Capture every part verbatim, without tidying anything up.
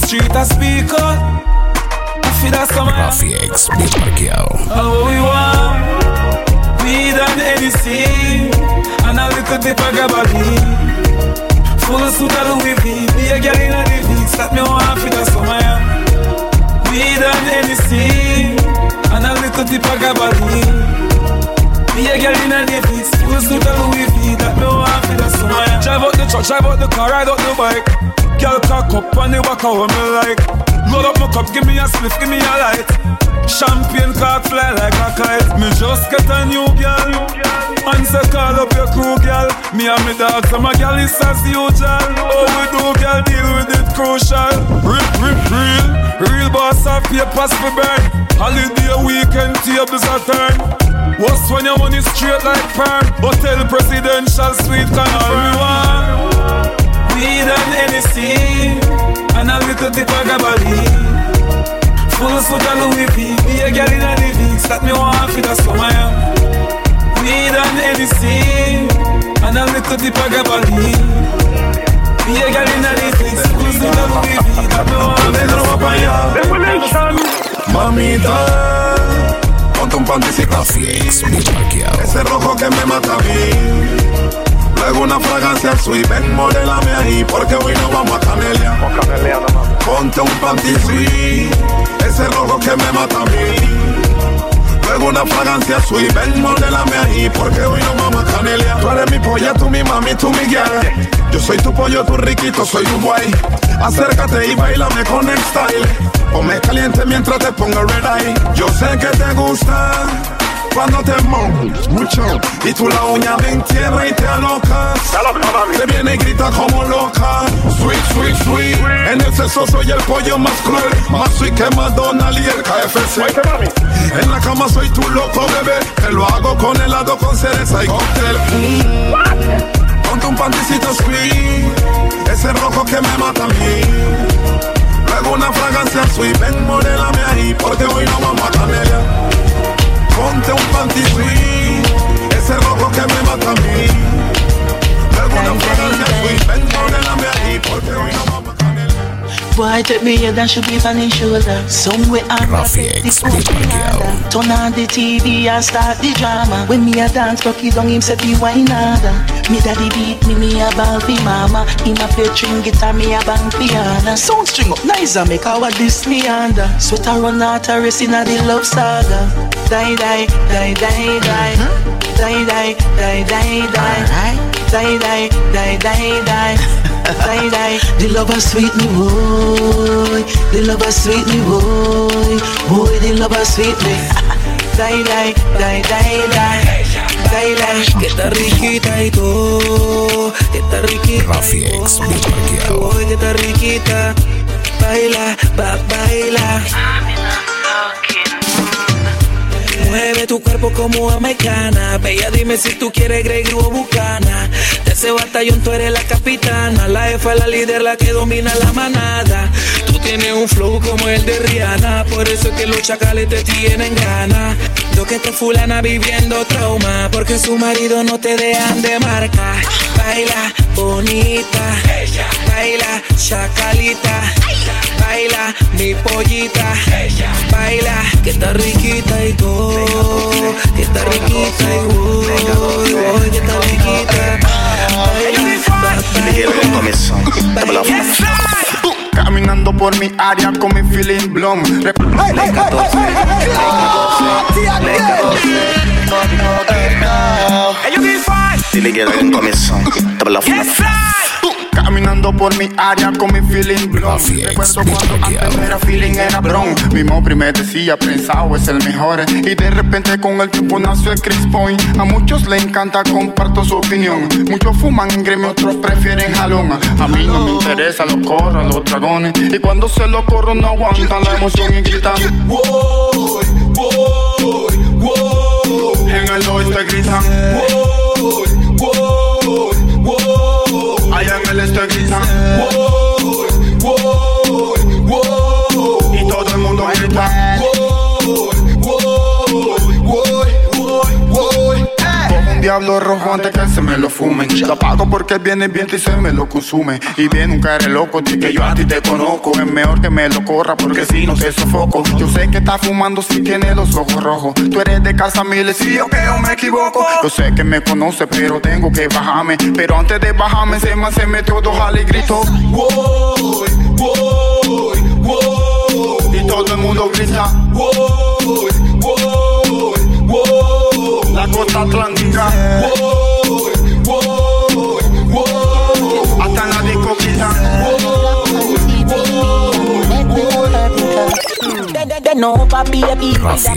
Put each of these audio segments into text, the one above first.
street I speak out. I feel that some Rafi X, bitch parqueado. How we want, weed and anything, and a little dip of gabardine. Full suit of Louis V, be a girl in a divis. That me want for the summer. Weed and anything, and a little dip of gabardine. Be a girl in a divis. Full suit of Louis V. That me want for the summer. Drive out the truck, drive out the car, ride out the bike. Girl cock up on the back of me like. Load up my cup, give me a spliff, give me a light. Champagne cock fly like a kite. Me just get a new girl. Answer call up your crew, girl. Me and me dog, so my girl is as usual. Oh, we do, girl, deal with it crucial. Rip, rip, real. Real boss of papers for burn. Holiday weekend tables a turn. What's when your money straight like perm? Hotel presidential suite can everyone. Weed and anything, and a little dip of gabardine. Full suit of Louis V, be a girl in a divis. That me want for the summer. Weed and anything, and a little dip of gabardine. Be a girl in a divis. Full suit of Louis V, that me want for the summer. Mamita, ponte un panticito Rafi X, bitch parqueado. ese rojo que me mata a mí. Luego una fragancia sweet, ven modélame ahí, porque hoy no vamos a Canelia. Ponte un panty sweet, ese rojo que me mata a mí. Luego una fragancia sweet, ven modélame ahí, porque hoy no vamos a Canelia. Tú eres mi polla, tú mi mami, tú mi guía. Yo soy tu pollo, tu riquito, soy tu guay. Acércate y bailame con el style. Ponme caliente mientras te pongo red eye. Yo sé que te gusta cuando te moves mucho y tú la uña me entierra y te alocas. Te viene y grita como loca. Sweet, sweet, sweet. En el sexo soy el pollo más cruel, más sweet que McDonald's y el K F C. En la cama soy tu loco bebé. Te lo hago con helado, con cereza y cóctel. mm. Ponte un panticito sweet, ese rojo que me mata a mí. Luego una fragancia sweet, ven modélame ahí, porque hoy no vamos a Canelia. Ponte un panty sweet, ese rojo que me mata a mí. Luego una fragancia sweet, ven modélame ahí, porque hoy no vamos a Canelia. Boy, take me head and should be on his shoulder. Somewhere I'm Rafi X, bitch parqueado. turn on the T V and start the drama. When me a dance, cocky down him set me wine harder. Me daddy beat me, me a ball fi mama. Him a play string guitar, me a bang piano. Sound string up nice and make our this me under. Sweater run out a race inna the love saga. Die die die die die. Die die die die die. Die die die die die. Die die. The lover sweet me boy. The lover sweet me boy. Boy the lover sweet me. Die die die die die. Que está riquita y todo, que está riquita. Rafi X, bitch parqueado. Que está riquita. Baila, va, baila. Mueve tu cuerpo como americana. Bella, dime si tú quieres Grey Goose o Bucana. De ese batallón tú eres la capitana. La jefa, la líder, la que domina la manada. Tú tienes un flow como el de Rihanna. Por eso es que los chacales te tienen ganas. Lo que esta fulana viviendo trauma, porque su marido no te dejan de marca. Baila bonita, baila chacalita, baila mi pollita, baila que está riquita y todo, que está riquita y oh, que está riquita. Baila, caminando por mi área con mi feeling blom. Caminando por mi área con mi feeling blom. Recuerdo cuando antes era feeling, era bron. Mi mopri me decía, pensado es el mejor. Y de repente con el tiempo nació el Chris Point. A muchos le encanta, comparto su opinión. Muchos fuman en gremio, otros prefieren jalón. A mí no me interesa los corros, los dragones. Y cuando se lo corro no aguantan la emoción y gritan wow, wow, wow. En el oeste gritan wow, wow, wow. Allá en el este gritan wow, wow, wow. Y todo el mundo grita wow, wow, wow, wow, wow. Cojo un diablo rojo antes que se me lo fumen. Lo pago porque viene el viento y se me lo consume. Y bien, nunca eres loco, di que yo a ti te conozco. Es mejor que me lo corra porque si no te sofoco. Yo sé que estás fumando si tienes los ojos rojos. Tú eres de casa miles y yo que yo me equivoco. Yo sé que me conoces pero tengo que bajarme. Pero antes de bajarme se me, se metió dos alas y gritó wow, wow, wow. Y todo el mundo grita wow, wow, wow. La costa atlántica wow, wow, wow. Hasta en la discoteca wow, wow, wow. They know papi baby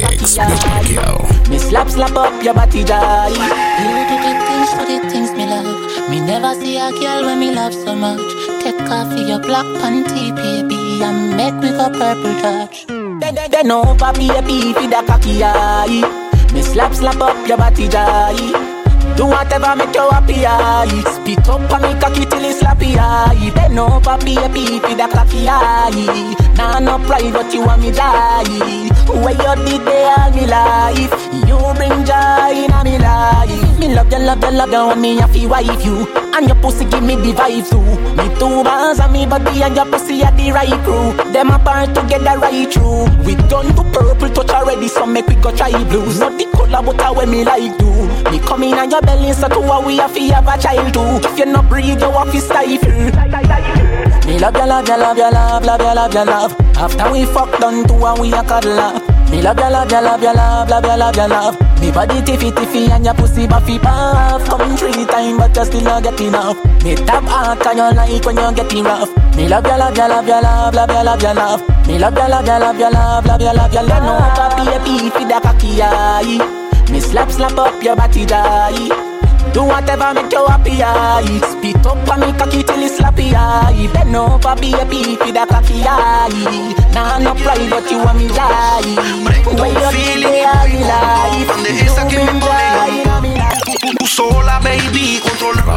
me slap slap up your body die. You do the things for the things me love. Me never see a girl when me love so much. Take off your black panty baby and make me go purple touch. They, they, they know papi baby for the cocky eye. Me slap slap up your body die. Do whatever make you happy eye. Spit up and me cocky till it's slappy eye. They know papi happy for the cocky eye. Nah no pride but you want me die. Where you did they all me life. You bring joy in me life. Me love you, love you, love you, and me have to wife you. And your pussy give me the vibe too. Me two bands and me body and your pussy at the right crew. Them apart together right through. We done to purple touch already, so make we go try blues. Not the color but how when me like do. Me come in and your belly so to what we have to have a child too. If you not breathe you have to stifle. Me love you, love you, love you, love, love you, love you, love. After we fuck done to and we a cuddle up. Me love you, love you, love you, love, love you, love you, love. Me body tiffy tiffy and your pussy buffy puff. Come three times but you still not get enough. Me tap hard and you like when you getting rough. Me love you, love you, love you, love, love you, love you, love. Me love you, love you, love you, love, love you, love you, love. No papi happy for the cocky eye. Me slap slap up your body die. Do whatever make you happy eye. Spit up and me cocky till it's slappy eye. Bend over be happy for the cocky eye. Nah no pride but you want me die. Where you feel it in life. Esa que me pone tú sola baby controla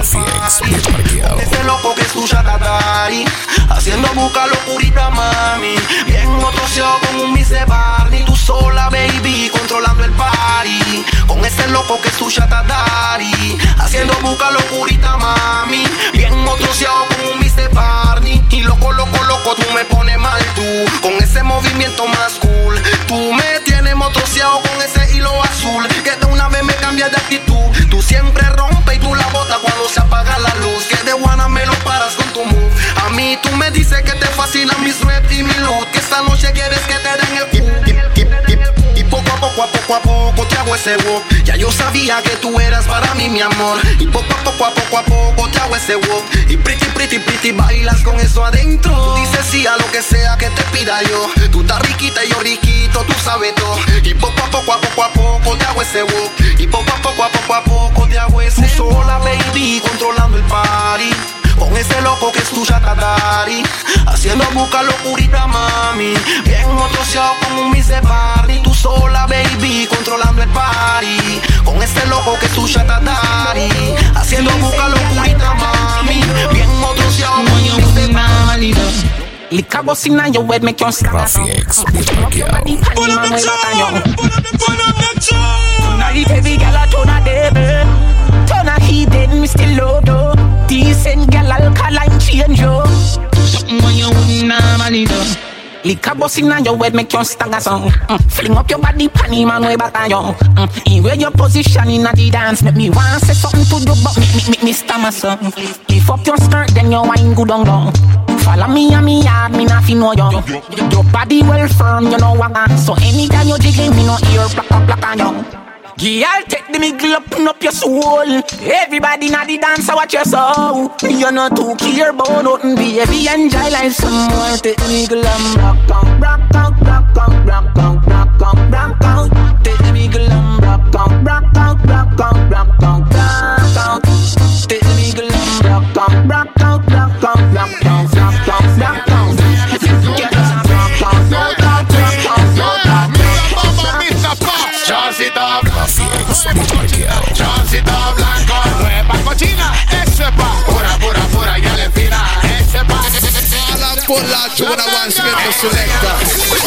ese loco que es tuya tatari. Haciendo busca locurita mami. Bien motoseado con un Miss Barney. Tú sola baby controlando el party. Con ese loco que es tuya tatari. Haciendo busca locurita mami. Bien motoseado con un Miss Barney. Y loco, loco, loco, tú me pones mal tú. Con ese movimiento más cool. Tú me tienes motoseado con ese hilo azul. Que de una vez me cambia de actitud. Tú siempre rompes y tú la botas cuando se apaga la luz. Que de guana me lo paras con tu move. A mí tú me dices que te fascinan mis rap y mi loot. Que esta noche quieres que te den el kip, kip, kip, kip. Y poco a poco, a poco a poco te hago ese walk. Ya yo sabía que tú eras para mí mi amor. Y poco a poco, a poco a poco te hago ese walk. Y pretty, pretty, pretty bailas con eso adentro. Tú dices sí a lo que sea que te pida yo. Tú estás riquita y yo riquito, tú sabes todo. Y poco a poco, a poco a poco te hago ese walk. Y poco a poco, a poco a poco te hago ese walk. Tú sola baby controlando el party. Con ese loco que es tuya tatari. Haciendo busca locurita mami. Bien motoseado con un Miss Barney. Tú sola baby controlando el party. Con ese loco que es tuya tatari. Haciendo busca locurita mami. Bien motoseado con un Miss Barney. Liquor busting on your head make you stop. Graphics, Bitmark Pull up the tune, pull up the, pull up the tune. Tonight every girl a turn a devil. Turn a heathen, me still love you. Decent girl alkaline change you. Something when you wouldn't normally do. Liquor busting on your head make you stagger song. mm. Fling up your body panty man way back on you. mm. In where your position in the dance make me want say something to you but me, me, me, me stammer song. Lift up your skirt then your wine good on down. Follow me and me yard, me not fin know you. Your body well firm, you know what I. So anytime you jiggle, me no ear black up black on you. Girl, take the middle up, up your soul. Everybody na the dance, watch your soul. You not too care about nothing, baby. Enjoy life some more. Take the middle and rock out, rock out, rock out, rock out, rock out, rock out. Take the middle and rock out, rock out, rock out, rock out, rock out. Take the middle and rock out, rock out, rock out, rock out, rock out, rock out. Get us a rock out, rock out, rock out, rock out. Mister Fox, chance it up. Graphics, Bitmark Chance it up, blanco. Nueva cochina, ese pa. Pura, pura, pura, ya le fina. Ese pa. Por la chula one special selector.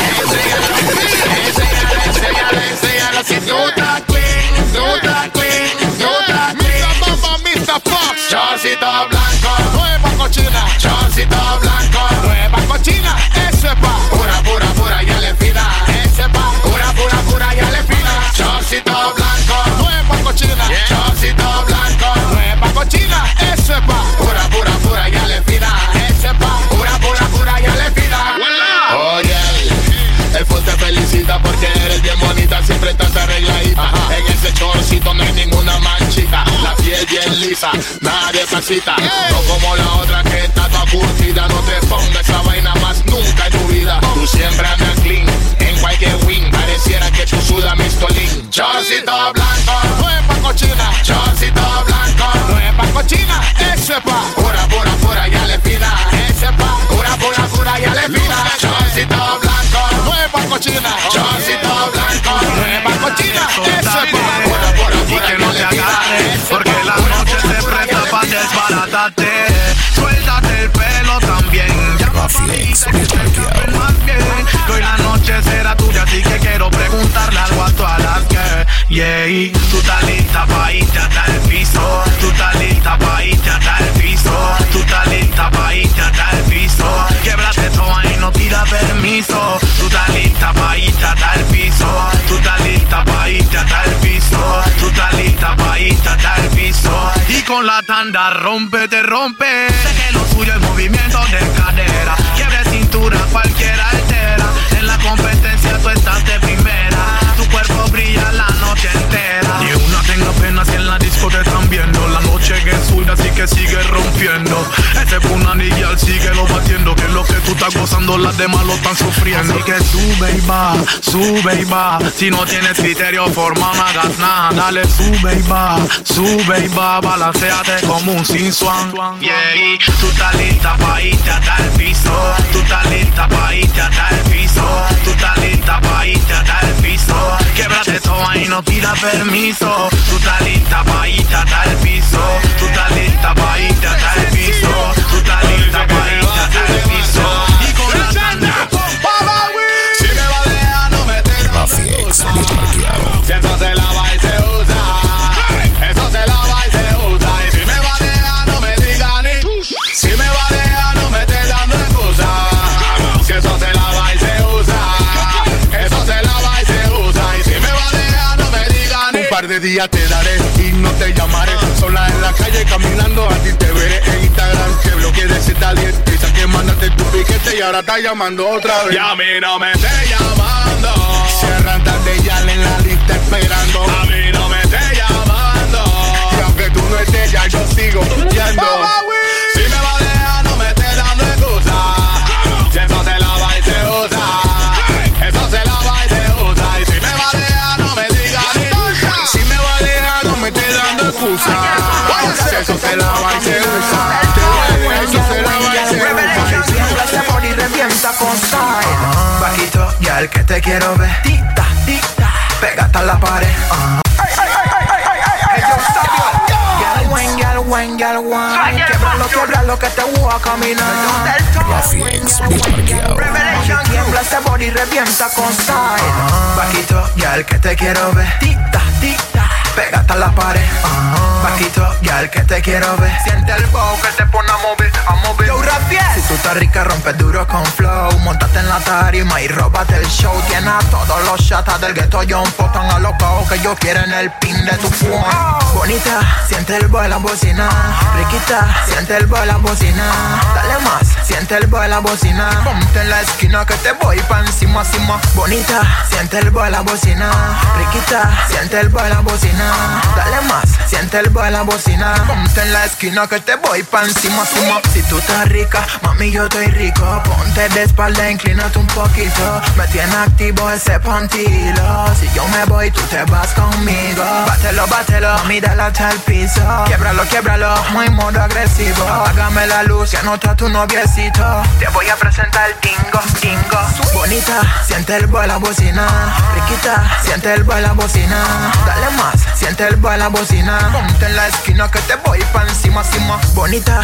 Enséñale, enséñale, enséñale. Si tú estás clean, tú estás clean, tú estás clean. Mister Bamba, Mister Fox. Chorcito blanco, nueva cochina. Chorcito blanco, nueva cochina. Eso es pa' pura, pura, pura y ale fina. Eso es pa' pura, pura, pura y ale fina. Chorcito blanco, nueva cochina. Chorcito blanco, nueva cochina. Eso es pa' pura, pura, pura y ale fina. Eso es pa' pura, pura, pura y ale fina. Oye, el full te felicita porque eres bien bonita, siempre estás arregladita. Ajá. En ese chorcito no hay ninguna manchita, la piel bien lisa, nadie pasita. No como la otra que está toda curtida, no te pongas esa vaina más nunca en tu vida. Tú siempre andas clean, en cualquier wing, pareciera que tú sudas mistolín. Chorcito blanco, nueva cochina. Chorcito blanco, nueva cochina. Eso es pa' pura, pura, pura y ale fina. Eso es pa' pura, pura, pura y ale fina. Chorcito blanco, nueva cochina. Chorcito blanco, nueva cochina. Eso es pa' pura, pura, pura y ale fina. Porque la noche se presta pa' desbaratarte. Suéltate el pelo también. Llama pa' mí y te que más bien. Que hoy la noche será tuya, así que quiero preguntarle algo a todas las que yeah, tú estás lista pa' irte hasta el piso. Tú estás lista pa' irte hasta el piso. Tú estás lista pa' irte hasta el piso. Québrate toda y no pida permiso. Tú estás lista pa' irte hasta el piso. Tú estás lista pa' irte hasta el piso. Tú estás lista pa' irte hasta el piso. Y con la tanda rompe, te rompe. Sé que lo suyo es movimiento de cadera. Quiebre cintura, cualquiera altera. En la competencia tú estás de primera. Tu cuerpo brilla la noche entera. Ni una tenga pena si en la disco te están viendo. La noche que es suya, así que sigue rompiendo. Ese punanillo sigue lo batiendo. Que es lo que tú estás gozando, las demás lo están sufriendo. Así que sube y va, sube y va. Si no tienes criterio formal, no hagas nada. Dale, sube y va, sube y va. Balanceate como un sin swan. Yeah, tú estás lista pa' irte hasta el piso. Tú estás lista pa' irte hasta el piso. Tú estás lista pa' irte hasta el piso. Québrate toda y no pida permiso. Tú estás lista pa' irte hasta el piso. Tú estás lista pa' irte hasta el piso. Tú estás lista pa' irte hasta el piso. Y con la tanda, si me va a dejar, no me te Rafiex, desparqueado. Si eso se lava y se usa, eso se lava y se usa. Y si me va a dejar, no me diga ni. Si me va a dejar, no me esté dando excusa. Si eso se lava y se usa, eso se lava y se usa. Y si me va a dejar, no me diga ni. Un par de días te daré y no te llamaré. Sola en la calle caminando, a ti te veré en Instagram. Que bloqueé de ese talento. Piensa que mandaste tu piquete y ahora estás llamando otra vez. Y a mí no me esté llamando. Cierran tarde ya en la lista esperando. A mí no me esté llamando. Y aunque tú no estés ya yo sigo yendo. Si me va a dejar no me esté dando excusa. Si eso se lava y se usa, eso se lava y se usa. Y si me va a dejar no me diga ni. Si me va a dejar no me esté dando excusa. Si eso se lava y se usa, eso se lava y se usa. ese body revienta con style. Vaquito, ya el que te quiero ver. Tita, tita, pégate a la pared. Québralo, québralo que te voy a caminar. Rafiex, desparqueado. Tiembla ese body revienta con style. Vaquito, ya el que te quiero ver. Tita, tita, pégate a la pared. Vaquito, ya el que te quiero ver. Siente el bow que te pone a mover, a mover. Yo, Rafiex. Si tú estás rica, rompe duro con flow. Montate en la tarima y róbate el show. Tiene a todos los chatas del ghetto John Po tan alocados que yo quiero en el pin de tu phone. Bonita, siente el boy la bocina. Riquita, siente el boy la bocina. Dale más, siente el boy la bocina. Ponte en la esquina que te voy pa' encima, encima. Bonita, siente el boy la bocina. Riquita, siente el boy la bocina. Dale más, siente el boy la bocina. Ponte en la esquina que te voy pa' encima, encima. Si tú estás rica, mami yo estoy rico. Ponte de espalda, inclínate un poquito. Me tiene activo ese pantilo. Si yo me voy, tú te vas conmigo. Bátelo, bátelo, mami dale hasta el piso. Quiebralo, quiebralo, muy modo agresivo. Apágame la luz, que no está tu noviecito. Te voy a presentar el dingo, dingo. Bonita, siente el boy la bocina. Riquita, siente el boy la bocina. Dale más, siente el boy la bocina. Ponte en la esquina que te voy pa' encima, encima. Bonita, siente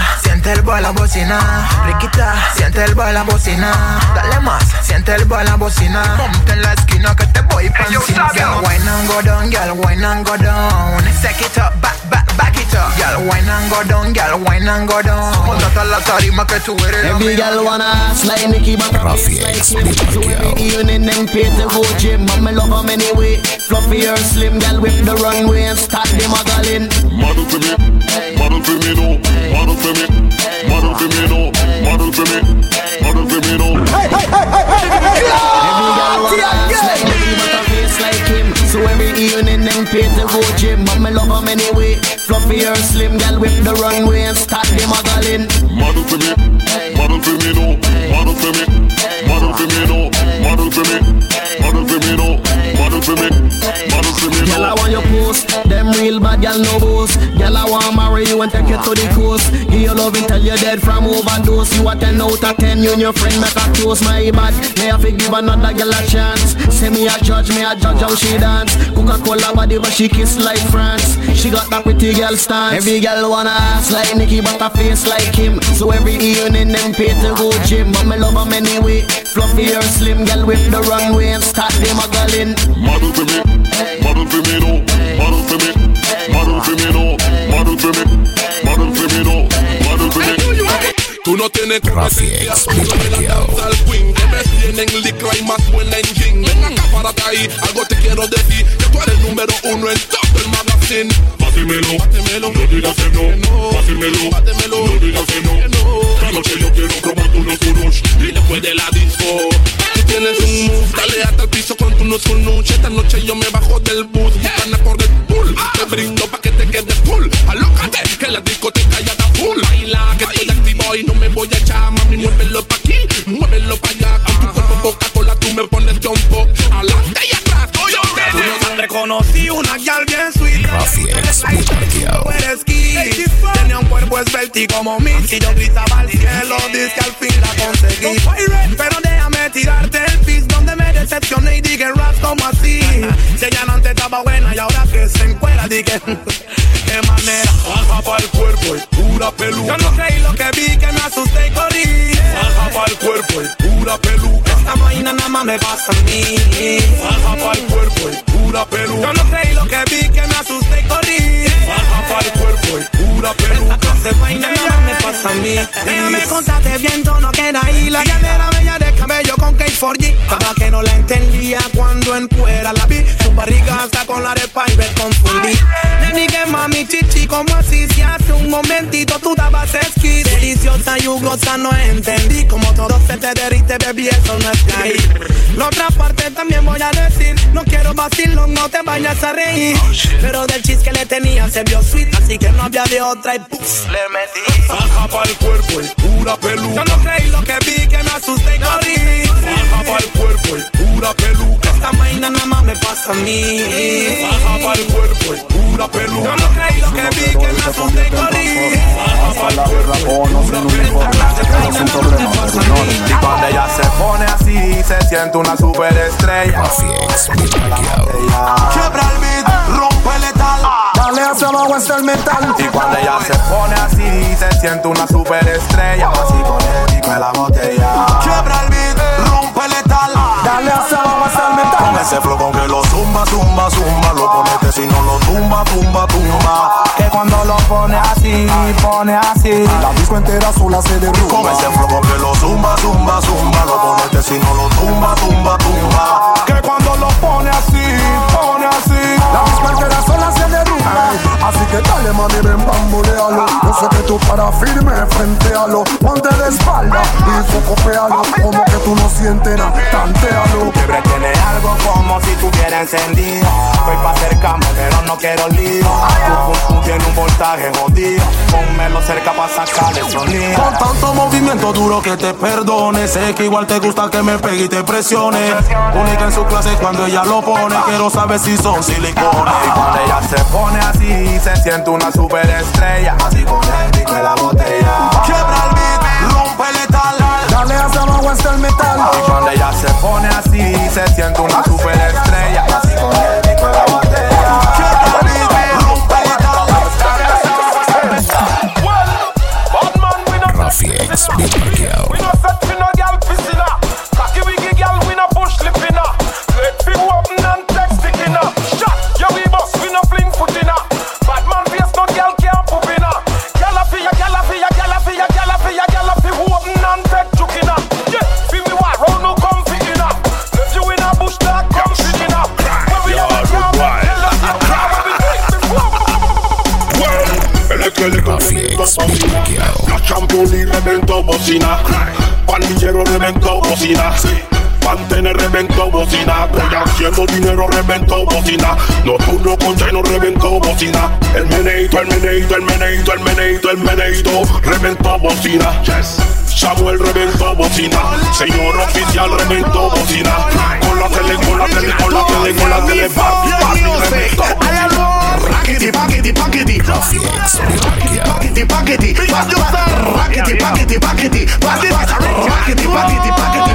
siente el boy la bocina. Riquita, siente el boy la bocina. Dale más, siente el boy la bocina. Ponte en la esquina que te voy pa' encima. Girl, wine and go down, girl, wine and go down. Set it up, back, back, back it up. Girl, wine and go down, girl, wine and go down. Montate a la tarima que tú eres la every girl wanna ask like Nicki, but I feel like him. So every evening them pay to go gym, but me love them anyway. Fluffy or slim, girl whip the runway and start the modeling. Model for me, model for me no, model for me, model for me no, model for me, model for me no. Hey, hey, hey, hey, hey, hey, every girl wanna ask like Nicki, but I face like him. So every evening them pay to go gym, but me love them anyway. Fluffy or slim, girl whip the runway and start the modeling. Model for me, model for me no, model for me, model for me no, model for me, model for me no, model for me, model for me no. Girl, I want your post, them real bad girl no boast. Girl, I want marry you and take you to the coast. Give you love until you're dead from overdose. You a ten out of ten, you and your friend make a toast. My bad, may I give another girl a chance. Say me a judge, me a judge how she dance. Coca-Cola body but she kiss like France. She got that pretty girl stance. Every girl wanna ask like Nicki but a face like him. So every evening them pay to go gym, but me love them anyway. Fluffy or slim, girl whip the runway and start the modeling. Model for me, model for me no, model for me, model for me no, model for me, model for me no, model for me. Tú no tienes competencia, al queen. Que me tienen licra y más buen engine. Ven acá, párate ahí, algo te quiero decir. Que tú eres número uno en todo el magazine. Bátemelo, bátemelo, no digas que no. Bátemelo, bátemelo, no digas que no. Esta noche yo quiero probar tu los unos. Y después de la disco, tú tienes un move. Dale hasta el piso con tu no nuche. Esta noche yo me bajo del bus. Buscan a correr full. Te brindo pa' que te quedes full. Alócate, que la discoteca ya está full. Baila, que estoy activo y no me voy a echar. Mami, muévelo pa' aquí, muévelo pa' allá. Con tu cuerpo Coca-Cola tú me pones jumpo. Adelante y atrás, yo te no reconocí una gal bien sweet. Rafiex, muy parqueado. Tenía un cuerpo esbelto como mí. Si yo gritaba al cielo, dice que al fin la conseguí. Pero déjame tirarte el piso donde me decepcioné y dije rap como así. Si ella no te estaba buena y ahora que se encuera, dije qué manera. Baja pa'l cuerpo y pura peluca. Yo no creí lo que vi, que me asusté y corrí. Baja pa'l cuerpo y pura peluca. Esta vaina nada más me pasa a mí. Baja pa'l cuerpo y pura peluca. Yo no creí lo que vi, que me asusté y corrí. Baja pa'l cuerpo y pura peluca. Esta vaina nada más me pasa a mí. Déjame contarte bien, todo no queda ahí. La galera bella de cabello con K cuatro G. Para que no la entendía cuando en fuera la vi. Su barriga hasta con la arepa y me confundí. Le dije mami chichi, como así si hace un momentito tú dabas esquí. Deliciosa y jugosa no entendí. Como todo se te derrite, baby, eso no está ahí. La otra parte también voy a decir. No quiero vacilo, no te vayas a reír. Pero del chis que le tenía se vio sweet. Así que no había de otra y puff, le metí. Baja pa'l cuerpo y pura peluca. Yo no creí lo que vi, que me asusté y corrí. Baja pa'l cuerpo y pura peluca. Esta vaina nada más me pasa a mí. Baja pa'l cuerpo y pura peluca. Yo no creí lo que vi, que me asusté y corrí. Baja pa'l cuerpo y pura peluca. Esta vaina nada más me pasa a mí. Y cuando ella se pone así, se siente una superestrella. Rafiex, muy parqueado. Quiebra el beat, rompe el letal. Dale hacia abajo hasta el metal. Y cuando ella se pone así, se siente una superestrella. Así con el pico de la botella. Quiebra el beat, rompe el letal. Dale hacia abajo hasta el metal. Con ese flow con que lo zumba, zumba, zumba. Lo ponete si no lo tumba, tumba, tumba. Que cuando lo pone así, pone así. La disco entera sola se derrumba. Con ese flow con que lo zumba, zumba, zumba. Lo ponete si no lo tumba, tumba, tumba. Que cuando lo pone así, pone así. La disco entera sola se derrumba. Así que dale mami, ven bambolealo. Yo sé que tú para firme frente a lo. Ponte de espalda y focopealo. Como que tú no sientes nada, tantealo. Quiebre tiene algo como si tuviera encendido. Voy pa' acercarme pero no quiero lío. Tu pum pum tiene un voltaje jodido. Pónmelo cerca pa' sacar el sonido. Con tanto movimiento duro que te perdone. Sé que igual te gusta que me pegue y te presione. Única en su clase cuando ella lo pone. Quiero saber si son silicones. Y cuando ella se pone así, se siente una superestrella. Así con el pico de la botella. Quiebra el beat, rompe el letal. Dale hacia abajo hasta el metal. Y cuando ella se pone así, se siente una superestrella. Así con el pico de la botella. Quiebra el beat, rompe el letal. Bad man with Champoli reventó bocina, pandillero reventó bocina, Pantene reventó bocina, Goya haciendo dinero reventó bocina, Nocturno con Chino reventó bocina, el meneito, el meneito, el meneito, el meneito, el meneito reventó bocina, Samuel reventó bocina, señor oficial reventó bocina, con la tele, con la tele, con la tele, con la tele, papi, papi reventó bocina. Paquiti, paquiti, paquiti, paquiti, paquiti, paquiti, paquiti, paquiti, paquiti, paquiti, paquiti,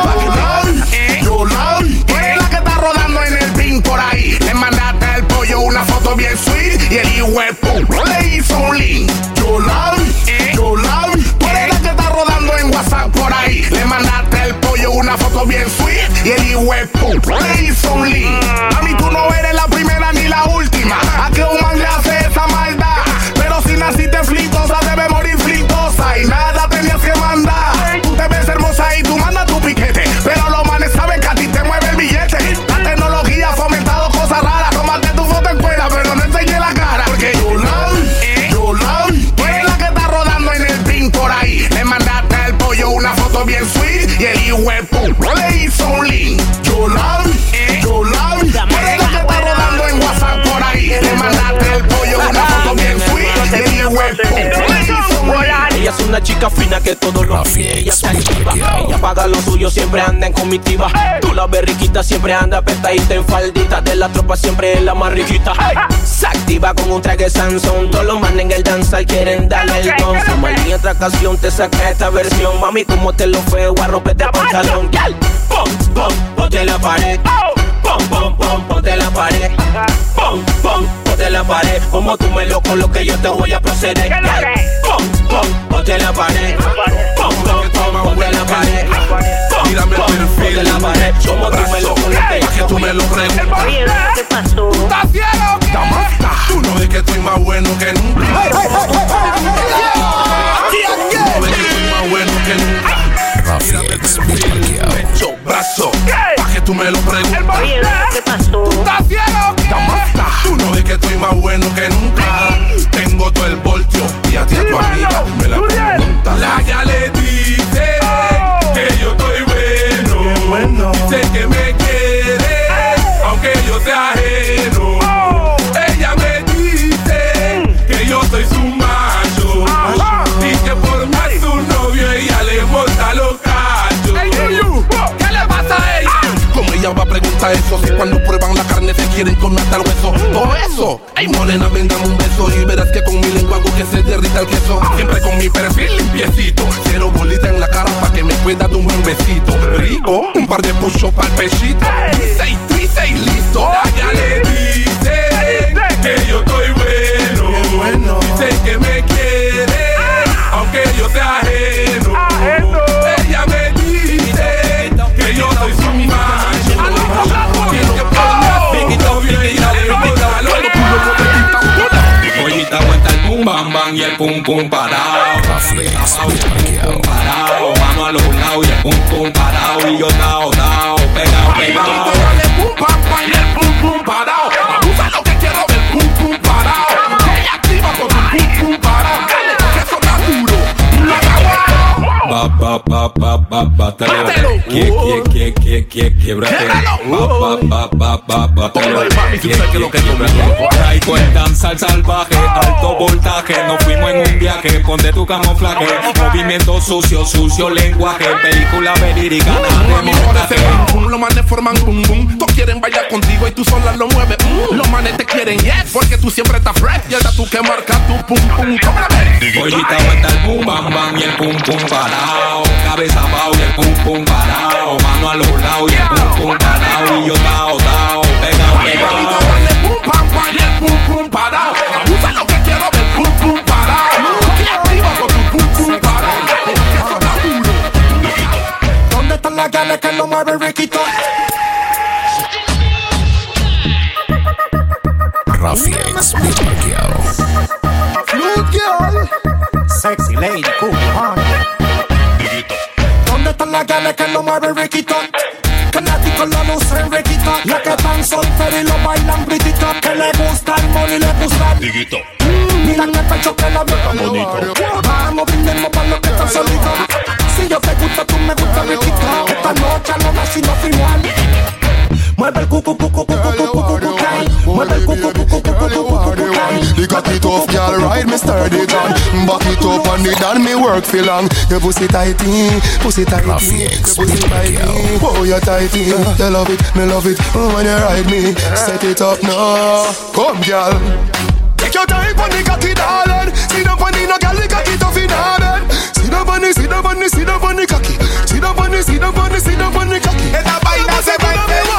paquiti, Yolai, tú eres la que está rodando en el pin por ahí. Le mandaste al pollo una foto bien sweet y el hijuepo le hizo un link. Yolai, Yolai, tú eres la que está rodando en WhatsApp por ahí. Le mandaste al pollo una foto bien sweet y el hijuepo le hizo un link. Mami, tú no eres la primera ni la última a que un man le hace esa maldad. Pero si naciste flitosa, debe morir flitosa y nada tenías que mandar. Tú te ves hermosa y tú mandas tu piquete, pero los manes saben que a ti te mueve el billete. La tecnología ha fomentado cosas raras. Tómate tu foto en cuera, pero no enseñe la cara. Porque Yolai, Yolai, tú eres la que está rodando en el pin por ahí. Le mandaste al pollo una foto bien sweet y el hijuepo le hizo un link. Yolai, Yolai, tú eres la que está rodando en WhatsApp por ahí. Le mandaste al pollo una foto bien sweet y el hijuepo le hizo un link. Ella es una chica fina que todos los fines ella se activa. Ella paga lo suyo, siempre anda en comitiva. Tú la ves riquita, siempre anda apretadita en faldita. De la tropa siempre es la más riquita. Se activa con un traje Samsung. Todos los manes en el danzal quieren darle el don. Si mal otra ocasión te saca esta versión. Mami, como te lo fue, voy a romperte el pantalón. Pum, pum, ponte la pared. Pum, pum, pum, ponte la pared. Pum, pum, ponte la pared. Como tú me lo colocas, yo te voy a proceder. Pum, pum, ponte la pared. Pum, pum, pum, ponte la pared. Mírame el perfil, ponte la pared. Como tú me lo colocas, pa' que tú me lo preguntes. ¿Qué pasó? ¿Tú estás ciego? Tú no ves que estoy más bueno que nunca. Tú no ves que estoy más bueno que nunca. Pecho, brazo, pa' que tú me lo preguntes. ¿Qué pasó? ¿Tú estás ciego? Tú no ves que estoy más bueno que nunca. Tengo todo el voltio y a ti a tu amiga me la pregunta. La ya le dice que yo estoy bueno. Dice que me quiere, aunque yo sea ajeno. Ella me dice que yo soy su macho y que por más su novio ella le monta los cachos. ¿Qué le pasa a ella? Como ella va a preguntar eso, si cuando prueban la carne se quieren comer hasta el hueso. Todo eso, ay morena, vendame un beso y verás que con mi lengua hago que se derrita el queso. Siempre con mi perfil limpiecito, cero bolita en la cara pa' que me pueda dar un buen besito. Rico, un par de push-ups pa'l pechito. Dice y dice y listo. Ya le dice que yo estoy bueno. Dice que me quiere, aunque yo sea ajeno. Ella me dice que yo soy su macho. Pollita aguanta el pum bam bam y el pum pum parado. Pum parado, vamos a los lados y el pum pum parado. Y yo tao tao, pegado pegado. Pum pam pam y el pum pum parado. Abusa lo que quiero del pum pum parado. Ella activa con tu pum pum parado. Dale, que eso está duro. Ba ba ba ba ba bátelo. Quie quie quie quie quie quiebrate. Ba ba ba ba ba bátelo. Quie quie quiebrate. Traigo el danzal salvaje, alto voltaje. Nos fuimos en un viaje, ponte tu camuflaje. Movimiento sucio, sucio lenguaje. Película verídica, nada de montaje. Los manes forman boom boom. Todos quieren bailar contigo y tú sola lo mueves. Mm. Los manes te quieren yes, porque tú siempre estás fresh. Y ahora tú que marcas tu pum pum. Pollita aguanta el pum bam bam y el pum pum parado. Cabeza abajo y el pum pum parado. Mano a los lados y el pum pum parado. Y yo tao tao, pegado pegado. Pum pam pam y el pum pum parado. Abusa lo que quiero del pum pum parado. Y activa con tu pum pum parado. Eso está duro. ¿Dónde están las gales que no mueven riquito? Rafi X, Beat Parqueado. Fluid girl, sexy lady, cool, huh? ¿Dónde están las gales que no mueven riquito? fanático lo lucen requita. La que tan soltera y lo bailan britita. Que le gusta el money, le gusta el Diguito. Mira que pecho que la veo tan bonito. Vamos, brindemos para los que están solitos. Si yo te gusto, tú me gustas riquito. Esta noche no da sino final. Mueve el cucu, cucu, cucu, cucu, cucu, mueve el cucu, cucu, cucu, cucu, cucu. You got it off, girl, ride me sturdy gun. Back it up and it done me work for long. Your pussy tighty, pussy tighty, pussy tighty. Oh, you tighty, you love it, me love it. Oh, when you ride me, set it up now. Come, girl. Take your time on the cocky, darling. See the bunny, no girl, the cocky tough in her bed. See the bunny, see the bunny, see the bunny cocky. See the bunny, see the bunny, see the bunny cocky. Esta vaina se va a entender.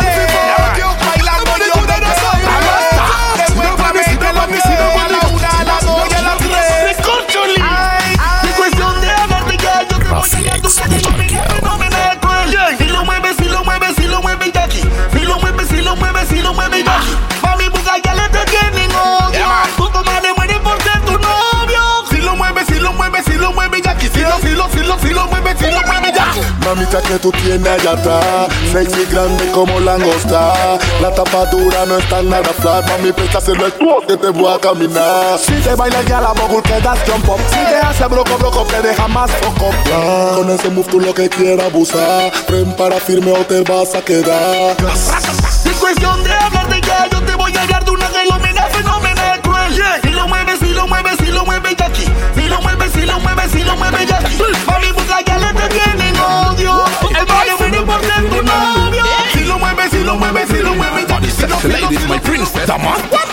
Bailando yo de nosotros. Después va a meter la piel a la una, a la dos y a la tres. Escúchale. Es cuestión de amarte ya. Yo te voy a dar tu no me da cuenta. Si lo mueves, si lo mueves, si lo mueves ya aquí. Si lo mueves, si lo mueves, si lo mueves ya aquí. Mami, busca ya le te tienen odio. Tu comadre muere por ser tu novio. Si lo mueves, si lo mueves, si lo mueves ya aquí. Si lo, si lo, si lo, si lo mueves, si lo mueves ya aquí. Mamita que tú tienes allá atrás, sexy grande como langosta. La tapa dura no está nada flat. Mami, presta hacerlo el tuo que te voy a caminar. Si te bailas ya la mogul que das jump up. Si te hace broco broco te deja más foco. Con ese move tú lo que quieras abusar. Ven para firme o te vas a quedar. Es cuestión de hablar de ya. Yo te voy a dar de una gelomena fenomenal cruel. Si lo mueves, si lo mueves, si lo mueves ya aquí. Si lo mueves, si lo mueves, si lo mueves ya aquí. Mami, busca ya le te tienen odio. El baile viene por ser tu novio. Si lo mueves, si lo mueves, si lo mueves ya aquí. Ladies, my princess. Dama.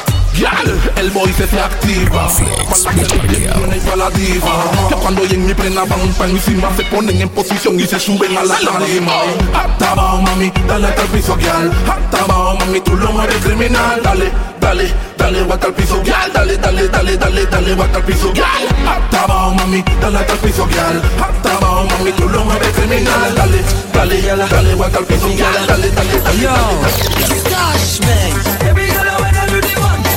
Girl, el boy se se activa. Para la que viene para la diva. Ya cuando y en mi plena van para encima se ponen en posición y se suben a la tarima. Hasta abajo, mami, dale hasta el piso, girl. Hasta abajo, mami, tú lo mueves criminal. Dale, dale, dale, va hasta el piso, girl. Dale, dale, dale, dale, dale, va hasta el piso, girl. Hasta abajo, mami, dale hasta el piso, girl. Hasta abajo, mami, tú lo mueves criminal. Dale, dale, dale, va hasta el piso, girl. Dale, dale, dale. Yo, gosh, man. Every girl I wanna do the one.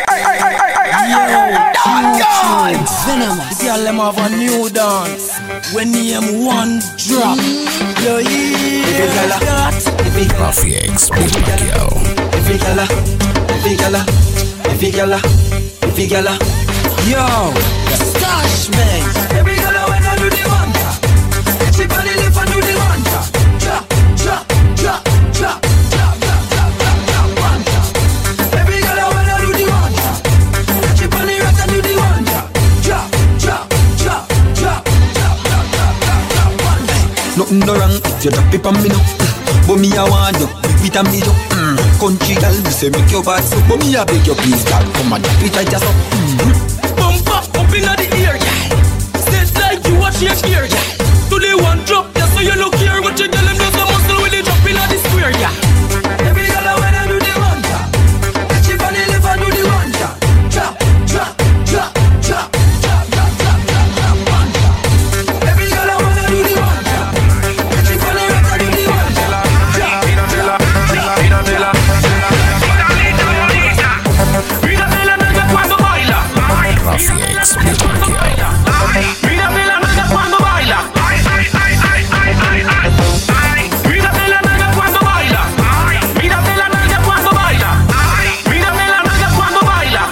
Venomous. The girl them have a new dance. When name one drop. Yo, yeah. Rafi X, Big Pacquiao. Every gala, every gala, every gala, every gala. Yo, Stash man. Every gala when I do the one drop. She body lift and do the one drop. Drop, drop, drop, drop, drop, drop, drop, drop, drop, one drop. Every gala when I do the one drop. She body rock and do the one drop. Drop, drop, drop, drop, drop, drop, drop, drop, drop, one drop. Nothing no wrong if you drop it on me now. But me I want you, big it and me up. Mm. Country girl, me say make your bad so. But me I beg you please, girl, come and drop it right just up. Mm. Bump up, up inna the ear, yeah. Says like you watch your ear, yeah. To the one drop, yeah, so you look here. What you tell them does a muscle with the drop inna the square, yeah. Every girl I wanna do the one drop. She funny live and do the one drop. Drop, drop, drop, drop, drop, drop, drop, drop, drop, one drop. Every girl I wanna do the one drop. She funny live and do the one drop. Drop, drop, drop, drop, drop. Rafi X, Big Pacquiao. Mírate la nalga cuando baila. Mírate la nalga cuando baila. Mírate la nalga cuando baila. Mírate la nalga cuando baila.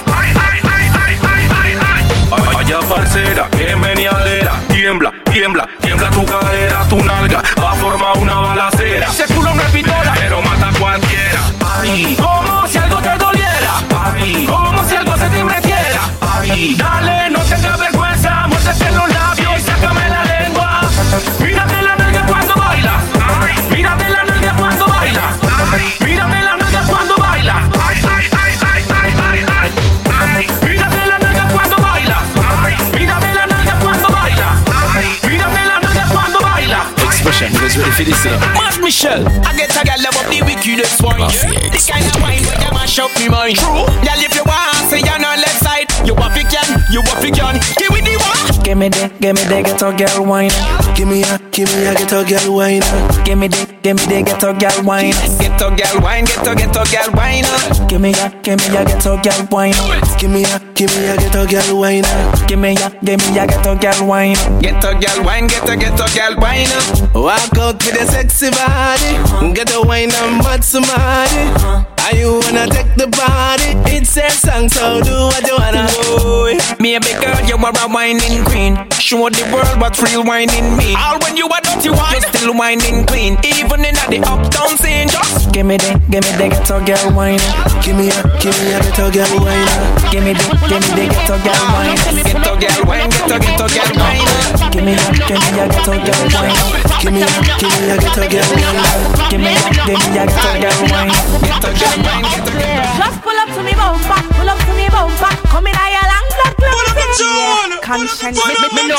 Vaya parcera, que meneadera. Tiembla, tiembla, tiembla tu cadera. Tu nalga va a formar una balacera. Ese culo no es pistola, pero mata a cualquiera. Ay, como si algo te doliera. Ay, como si algo se te metiera. Ay, dale, no tengas vergüenza. Muérdete los labios y sácame la lengua. Mírate la nalga cuando baila. Mírate la nalga cuando baila. Mírate la nalga cuando baila. Mírate la nalga cuando baila. Mírate la nalga cuando baila. Mírate la nalga cuando baila. Expression, you guys ready for this? Mark Michelle, I get a girl love the wickedest one. The kind of wine where you mash up me mind. True, girl if you want, say you're on left side. You a fiction, you a fiction. Give me the one. Give me the, give me the ghetto girl wine. Give me a, give me a ghetto girl wine. Give me the, give me the ghetto girl wine. Ghetto girl wine, ghetto ghetto girl wine. Give me a, give me a ghetto girl wine. Give me a, give me a ghetto girl wine. Give me a, give me a ghetto girl wine. Ghetto girl wine, ghetto ghetto girl wine. Walk out with a sexy body. Get a wine and mad somebody. Are you wanna take the body? It's a song, so do what you wanna. Boy, maybe girl, you are a whining queen. Show the world what real whining mean. All when you are dirty wine, you still whining clean. Even in the uptown scene, just give me the, give me the ghetto girl wine. Give me a, give me a ghetto girl wine. Give me the, give me the ghetto girl wine. Ghetto girl wine, ghetto ghetto girl wine. Give me a, give me a ghetto girl wine. Give me a, give me a ghetto girl wine. Give me a, give me a ghetto girl wine. Ghetto girl wine, ghetto girl wine. Just pull up to me bumper, pull up to me bumper. Come in a long black closet. Conscience, me, me, me no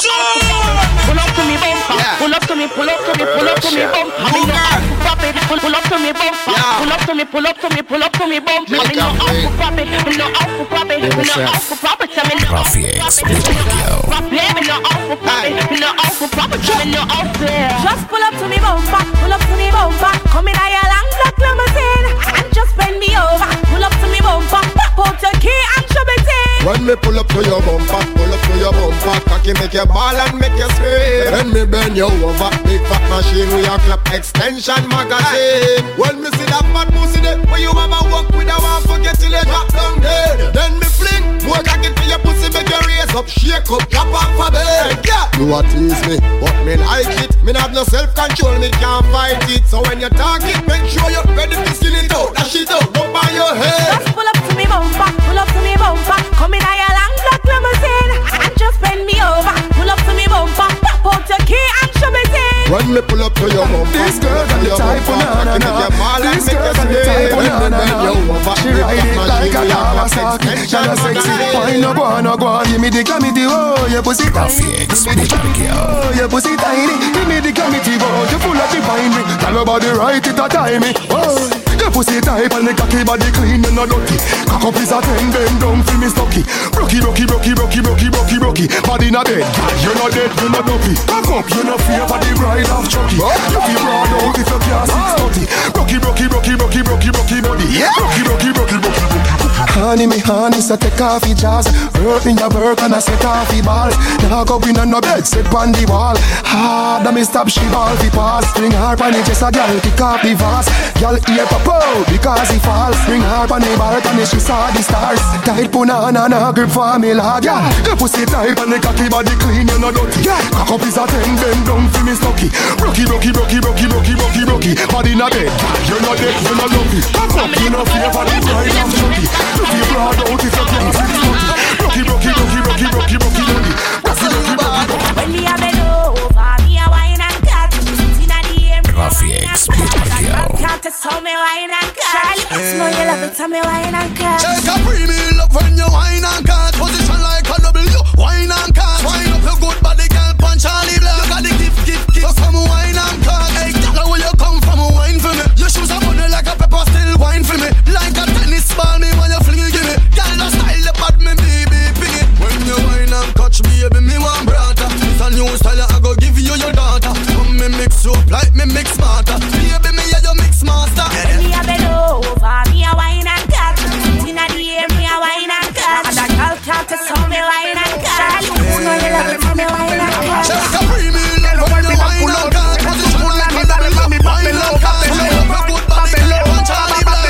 pull up to me bumper, pull up to me, pull up to me, pull up to me bumper. Me no pop it, pull pull up to me bumper, pull up to me, pull up to me, pull up to me bumper. Me no pop it, me no pop it, me no pop it, me no Rafiex, Beat Radio. me no pop it, me no pop it, me no just pull up to me bumper, pull up to me bumper. Come in a long black limousine and just bend me over. Pull up to me bumper, pop out your key and shove it in. When me pull up to your bumper, pull up to your bumper, cocky make you ball and make you scream. When me bend you over, big fat machine with your clap extension magazine. When me see that fat pussy there, when you have a walk with a one forget till you drop down dead. Then me fling, more cocky to your pussy make you raise up, shake up, drop off a bed. Yeah, you a tease me, but me like it. Me have no self control, me can't fight it. So when you talk it, make sure you're ready to skin it out. That shit out, go by your head. Just pull up to me bumper, pull up to me bumper. Come in a long black limousine and just bend me over. Pull up to me bumper, pop out your key and shove it in. When me pull up to your bumper, this girl got the type of na na na. This girl got the type of na na na. She ride it like a Kawasaki. She a sexy. Why no go on, no go on? Give me the glamity, oh, your pussy tiny. Give me the glamity, oh, your pussy tiny. Give me the glamity, oh, you full of divine me. Tell your body right, it a time me. Oh. Your pussy tight and the cocky body clean and not dirty. Cock up is a ten, bend down feel me stucky. Brocky, brocky, brocky, brocky, brocky, brocky, brocky. Body not dead, you're not dead, you're not dopey. Cock up, you're not fear for the bride of Chucky. You feel broad out if you can't six thirty. Brocky, brocky, brocky, brocky, brocky, brocky body. Brocky, brocky, brocky, brocky, brocky. Honey, me honey, so take off your jazz. Work in your work and I set off your ball. Now go in on no bed, sit on the wall. Hard, me stop, she ball fi pass. Bring her pan it, just a girl, kick off the vase. Girl ear pop out, because he falls. Bring her pan the balcony, she saw the stars. Tight punana, na grip for me lad. Yeah, your pussy tight and the cocky body clean, you no dirty. Yeah, cock up is a ten, bend down fi me stucky. Brocky, brocky, brocky, brocky, brocky, brocky, brocky. Body not dead, you're not dead, you're not lucky. Cock up, you no fear for the bride of Chucky. You feel proud out if you can't six thirty. Brocky, brocky, brocky, brocky, brocky, brocky, brocky. Brocky, brocky, brocky, brocky. When me a bend over, me a wine and cut. Inna the air, Rafiex, Beat Radio. can't tell me wine and cut. Smell you love it, tell me wine and cut. Take a premium love when you wine and cut. Position like a W, wine and cut. Wine up your good body, girl, punch Charlie Black. You got the gift, gift, gift. So come wine and cut. Hey, tell where you come from, wine for me. Your shoes are funny like a pepper, still wine for me. Like a tennis ball, me when you fling it, give me. Girl, the style, the bad me, baby, ping it. When you wine and touch me, baby, me want brother. It's a new style, I go give you your daughter. Come me mix you up like me mix smarter. Baby, me yeah, you mix master. When me a bend over, me a wine and cut. Inna the air, me a wine and cut. And a girl can't tell me wine and cut. You know you love it, tell me wine and cut. Take a premium love when you wine and cut. Position like a W, wine and cut. Wine up your good body, girl, punch Charlie Black.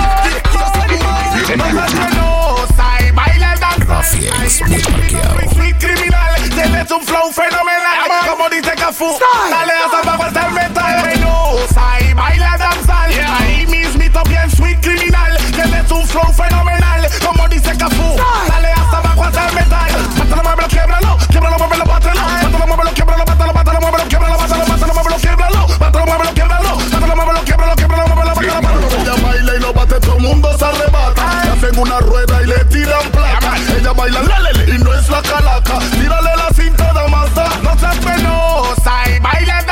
Rafiex, Beat Radio. Sweet criminal, tienes un flow fenomenal. Como dice Cafú, dale hasta abajo hasta el metal. Venosa y baila danzal. Ahí mismito bien sweet criminal. Tienes un flow fenomenal. Como dice Cafú, dale hasta abajo hasta el metal. Mátalo, muévelo, quiebralo. Quiebralo, muévelo, bátalo. Mátalo, muévelo, quiebralo, bátalo, mátalo, muévelo, quiebralo, bátalo, mátalo, muévelo, quiebralo. Mátalo, muévelo, quiebralo. Mátalo, muévelo, quiebralo, quiebralo, muévelo, bátalo, bátalo. Ella baila y lo bate, todo el mundo se arrebata. Le hacen una rueda y le tiran plata. Ella baila lálele y no es la calaca. Tírale la cinta de Mazda. No seas penosa y baila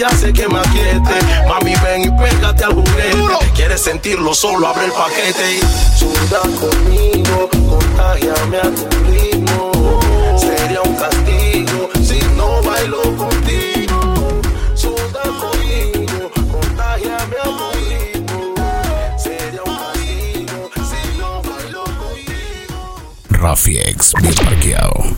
ella hace que me aquiete. Mami, ven y pégate al juguete. ¿Quieres sentirlo? Solo abre el paquete y suda conmigo, contágiame a tu ritmo. Sería un castigo si no bailo contigo. Suda conmigo, contágiame a tu ritmo. Sería un castigo si no bailo contigo. Rafiex, bien parqueado.